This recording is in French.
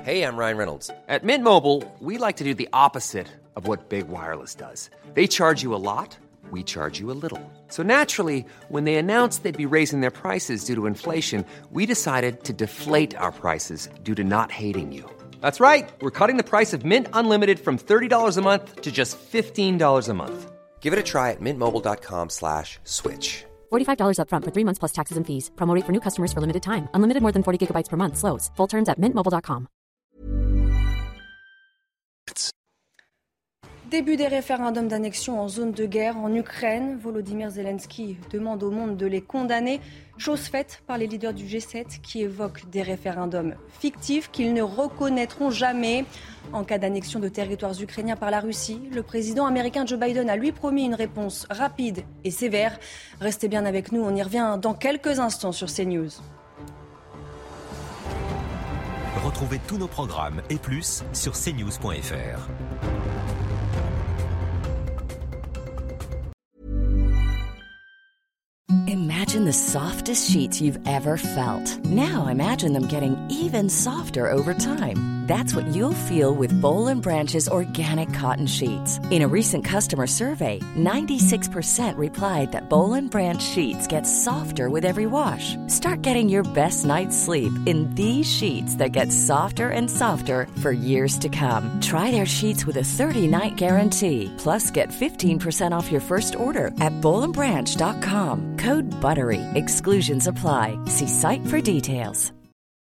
Hey, I'm Ryan Reynolds. At Mint Mobile, we like to do the opposite of what Big Wireless does. They charge you a lot, we charge you a little. So naturally, when they announced they'd be raising their prices due to inflation, we decided to deflate our prices due to not hating you. That's right. We're cutting the price of Mint Unlimited from $30 a month to just $15 a month. Give it a try at mintmobile.com/switch. $45 up front for 3 months plus taxes and fees. Promo rate for new customers for limited time. Unlimited more than 40 gigabytes per month. Slows full terms at mintmobile.com. Début des référendums d'annexion en zone de guerre en Ukraine. Volodymyr Zelensky demande au monde de les condamner. Chose faite par les leaders du G7 qui évoquent des référendums fictifs qu'ils ne reconnaîtront jamais. En cas d'annexion de territoires ukrainiens par la Russie, le président américain Joe Biden a lui promis une réponse rapide et sévère. Restez bien avec nous, on y revient dans quelques instants sur CNews. Retrouvez tous nos programmes et plus sur cnews.fr. Imagine the softest sheets you've ever felt. Now imagine them getting even softer over time. That's what you'll feel with Boll & Branch's organic cotton sheets. In a recent customer survey, 96% replied that Boll & Branch sheets get softer with every wash. Start getting your best night's sleep in these sheets that get softer and softer for years to come. Try their sheets with a 30-night guarantee. Plus, get 15% off your first order at bollandbranch.com. Code BUTTERY. Exclusions apply. See site for details.